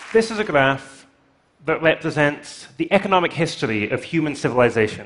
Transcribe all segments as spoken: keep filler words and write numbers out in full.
This is a graph that represents the economic history of human civilization.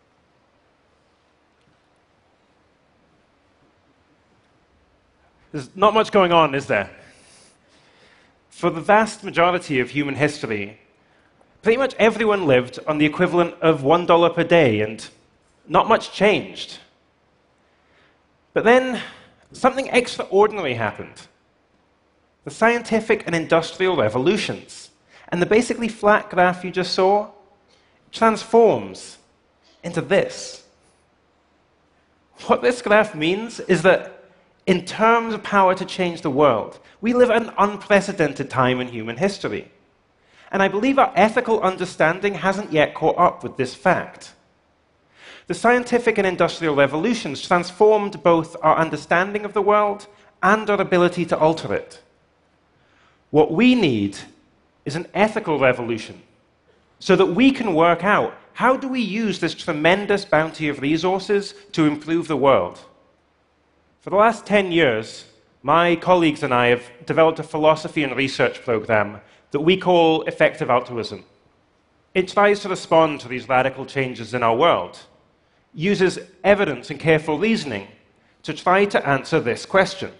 There's not much going on, is there? For the vast majority of human history, pretty much everyone lived on the equivalent of one dollar per day, and not much changed. But then, something extraordinary happened. The scientific and industrial revolutions. And the basically flat graph you just saw transforms into this. What this graph means is that in terms of power to change the world, we live at an unprecedented time in human history. And I believe our ethical understanding hasn't yet caught up with this fact. The scientific and industrial revolutions transformed both our understanding of the world and our ability to alter it. What we need is an ethical revolution, so that we can work out how do we use this tremendous bounty of resources to improve the world. For the last ten years, my colleagues and I have developed a philosophy and research program that we call effective altruism. It tries to respond to these radical changes in our world, uses evidence and careful reasoning to try to answer this question.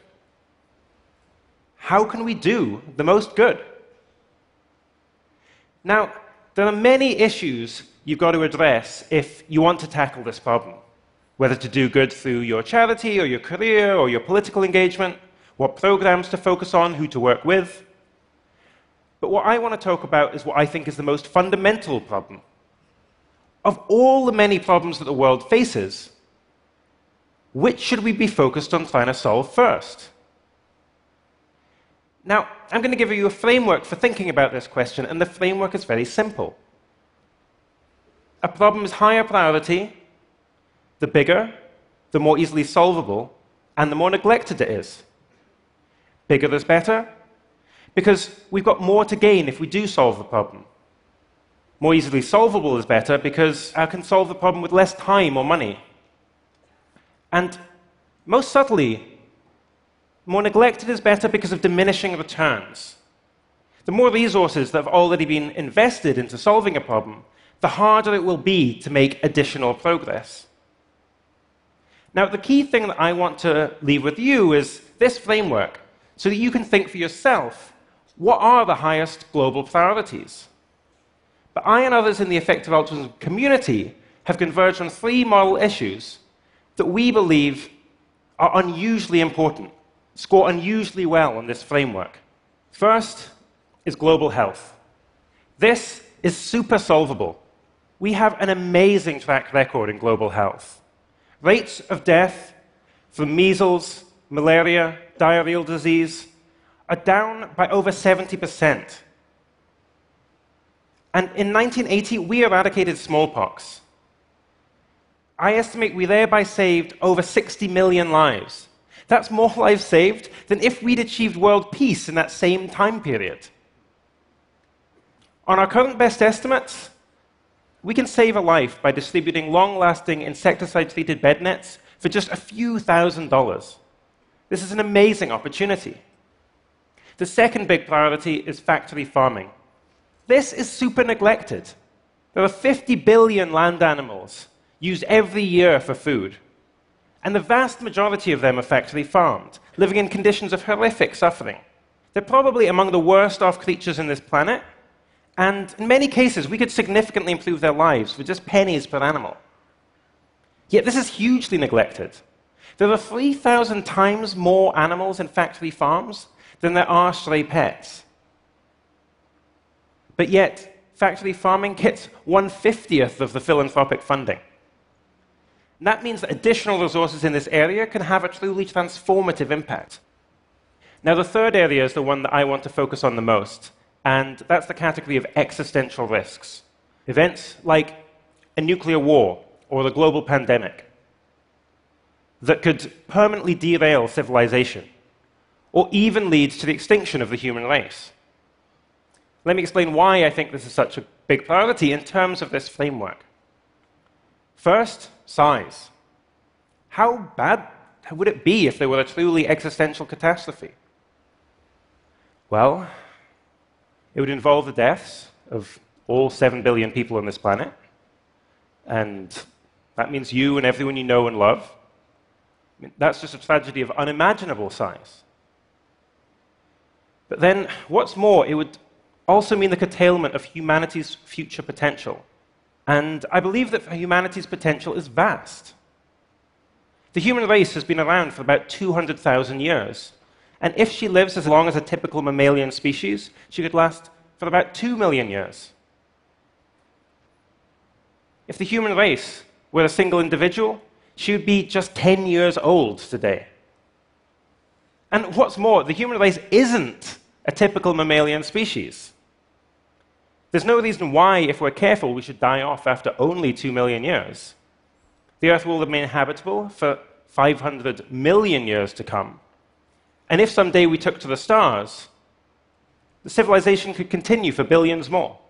How can we do the most good? Now, there are many issues you've got to address if you want to tackle this problem, whether to do good through your charity or your career or your political engagement, what programs to focus on, who to work with. But what I want to talk about is what I think is the most fundamental problem. Of all the many problems that the world faces, which should we be focused on trying to solve first? Now, I'm going to give you a framework for thinking about this question, and the framework is very simple. A problem is higher priority, the bigger, the more easily solvable, and the more neglected it is. Bigger is better, because we've got more to gain if we do solve the problem. More easily solvable is better, because I can solve the problem with less time or money. And most subtly, more neglected is better because of diminishing returns. The more resources that have already been invested into solving a problem, the harder it will be to make additional progress. Now, the key thing that I want to leave with you is this framework, so that you can think for yourself, what are the highest global priorities? But I and others in the effective altruism community have converged on three model issues that we believe are unusually important, score unusually well on this framework. First is global health. This is super solvable. We have an amazing track record in global health. Rates of death from measles, malaria, diarrheal disease are down by over seventy percent. And in nineteen eighty, we eradicated smallpox. I estimate we thereby saved over sixty million lives. That's more lives saved than if we'd achieved world peace in that same time period. On our current best estimates, we can save a life by distributing long-lasting insecticide-treated bed nets for just a few thousand dollars. This is an amazing opportunity. The second big priority is factory farming. This is super neglected. There are fifty billion land animals used every year for food. And the vast majority of them are factory farmed, living in conditions of horrific suffering. They're probably among the worst off creatures on this planet, and in many cases, we could significantly improve their lives with just pennies per animal. Yet this is hugely neglected. There are three thousand times more animals in factory farms than there are stray pets. But yet, factory farming gets one fiftieth of the philanthropic funding. And that means that additional resources in this area can have a truly transformative impact. Now, the third area is the one that I want to focus on the most, and that's the category of existential risks. Events like a nuclear war or the global pandemic that could permanently derail civilization or even lead to the extinction of the human race. Let me explain why I think this is such a big priority in terms of this framework. First, size. How bad would it be if there were a truly existential catastrophe? Well, It would involve the deaths of all seven billion people on this planet, and that means you and everyone you know and love. I mean, that's just a tragedy of unimaginable size. But then, what's more, it would also mean the curtailment of humanity's future potential. And I believe that humanity's potential is vast. The human race has been around for about two hundred thousand years. And if she lives as long as a typical mammalian species, she could last for about two million years. If the human race were a single individual, she would be just ten years old today. And what's more, the human race isn't a typical mammalian species. There's no reason why, if we're careful, we should die off after only two million years. The Earth will remain habitable for five hundred million years to come. And if someday we took to the stars, the civilization could continue for billions more.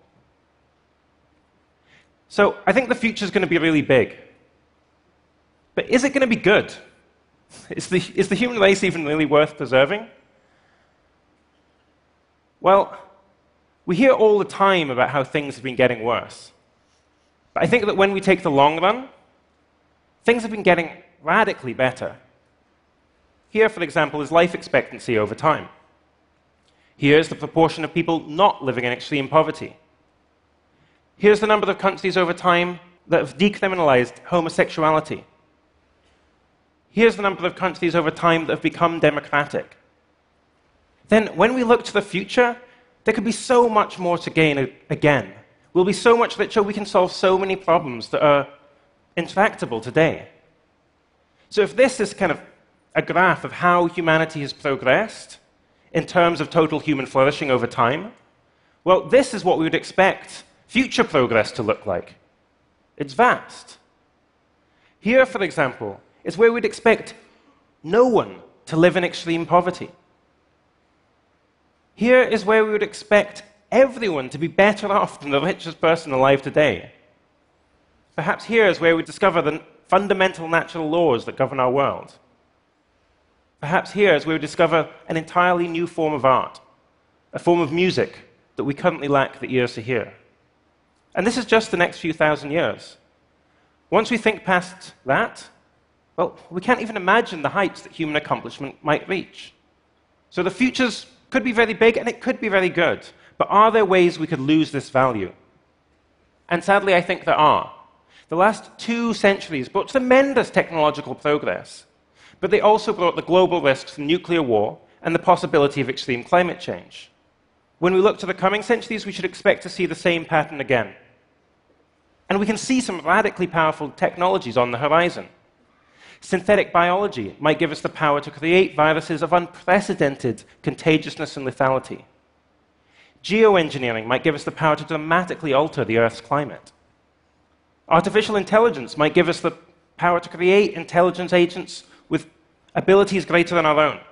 So I think the future is going to be really big. But is it going to be good? Is the, is the human race even really worth preserving? Well, we hear all the time about how things have been getting worse. But I think that when we take the long run, things have been getting radically better. Here, for example, is life expectancy over time. Here's the proportion of people not living in extreme poverty. Here's the number of countries over time that have decriminalized homosexuality. Here's the number of countries over time that have become democratic. Then, when we look to the future, there could be so much more to gain again. We'll be so much richer, we can solve so many problems that are intractable today. So if this is kind of a graph of how humanity has progressed in terms of total human flourishing over time, well, this is what we would expect future progress to look like. It's vast. Here, for example, is where we'd expect no one to live in extreme poverty. Here is where we would expect everyone to be better off than the richest person alive today. Perhaps here is where we discover the fundamental natural laws that govern our world. Perhaps here is where we discover an entirely new form of art, a form of music that we currently lack the ears to hear. And this is just the next few thousand years. Once we think past that, well, we can't even imagine the heights that human accomplishment might reach. So the futures could be very big and it could be very good, but are there ways we could lose this value? And sadly, I think there are. The last two centuries brought tremendous technological progress, but they also brought the global risks of nuclear war and the possibility of extreme climate change. When we look to the coming centuries, we should expect to see the same pattern again. And we can see some radically powerful technologies on the horizon. Synthetic biology might give us the power to create viruses of unprecedented contagiousness and lethality. Geoengineering might give us the power to dramatically alter the Earth's climate. Artificial intelligence might give us the power to create intelligence agents with abilities greater than our own.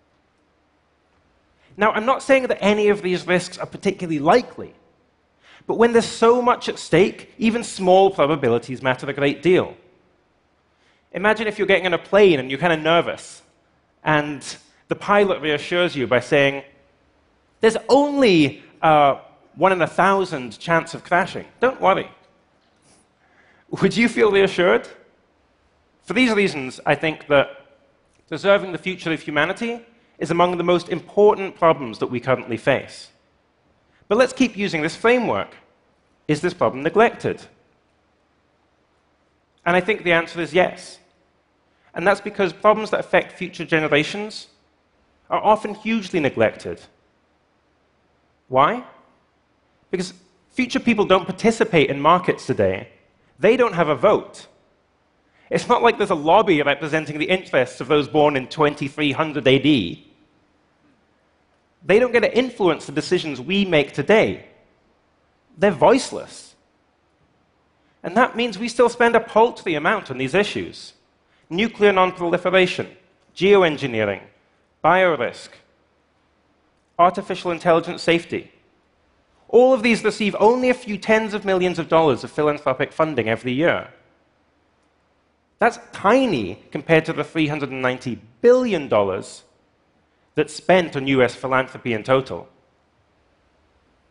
Now, I'm not saying that any of these risks are particularly likely, but when there's so much at stake, even small probabilities matter a great deal. Imagine if you're getting on a plane and you're kind of nervous, and the pilot reassures you by saying, there's only a one in a thousand chance of crashing. Don't worry. Would you feel reassured? For these reasons, I think that preserving the future of humanity is among the most important problems that we currently face. But let's keep using this framework. Is this problem neglected? And I think the answer is yes. And that's because problems that affect future generations are often hugely neglected. Why? Because future people don't participate in markets today. They don't have a vote. It's not like there's a lobby representing the interests of those born in twenty-three hundred A D. They don't get to influence the decisions we make today. They're voiceless. And that means we still spend a paltry amount on these issues. Nuclear non-proliferation, geoengineering, biorisk, artificial intelligence safety. All of these receive only a few tens of millions of dollars of philanthropic funding every year. That's tiny compared to the three hundred ninety billion dollars that's spent on U S philanthropy in total.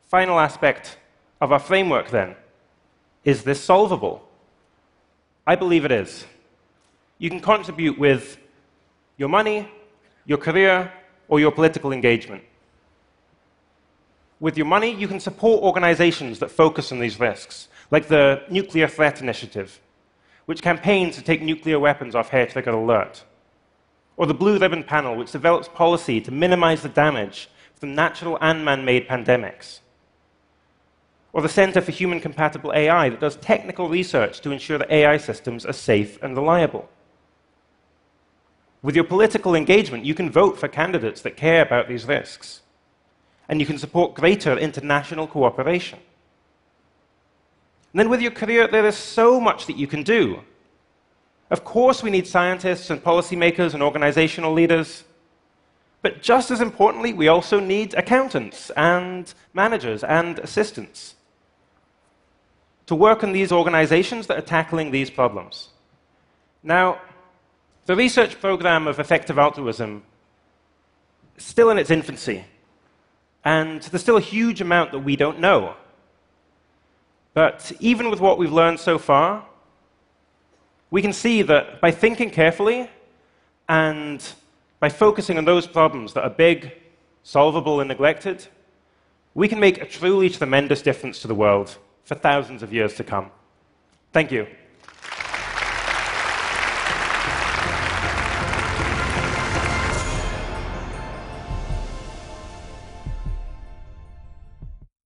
final aspect of our framework, then. Is this solvable? I believe it is. You can contribute with your money, your career, or your political engagement. With your money, you can support organizations that focus on these risks, like the Nuclear Threat Initiative, which campaigns to take nuclear weapons off hair-trigger alert, or the Blue Ribbon Panel, which develops policy to minimize the damage from natural and man-made pandemics, or the Center for Human Compatible A I that does technical research to ensure that A I systems are safe and reliable. With your political engagement, you can vote for candidates that care about these risks, and you can support greater international cooperation. And then with your career, there is so much that you can do. Of course, we need scientists and policymakers and organizational leaders, but just as importantly, we also need accountants and managers and assistants to work in these organizations that are tackling these problems. Now, the research program of effective altruism is still in its infancy, and there's still a huge amount that we don't know. But even with what we've learned so far, we can see that by thinking carefully and by focusing on those problems that are big, solvable, and neglected, we can make a truly tremendous difference to the world for thousands of years to come. Thank you.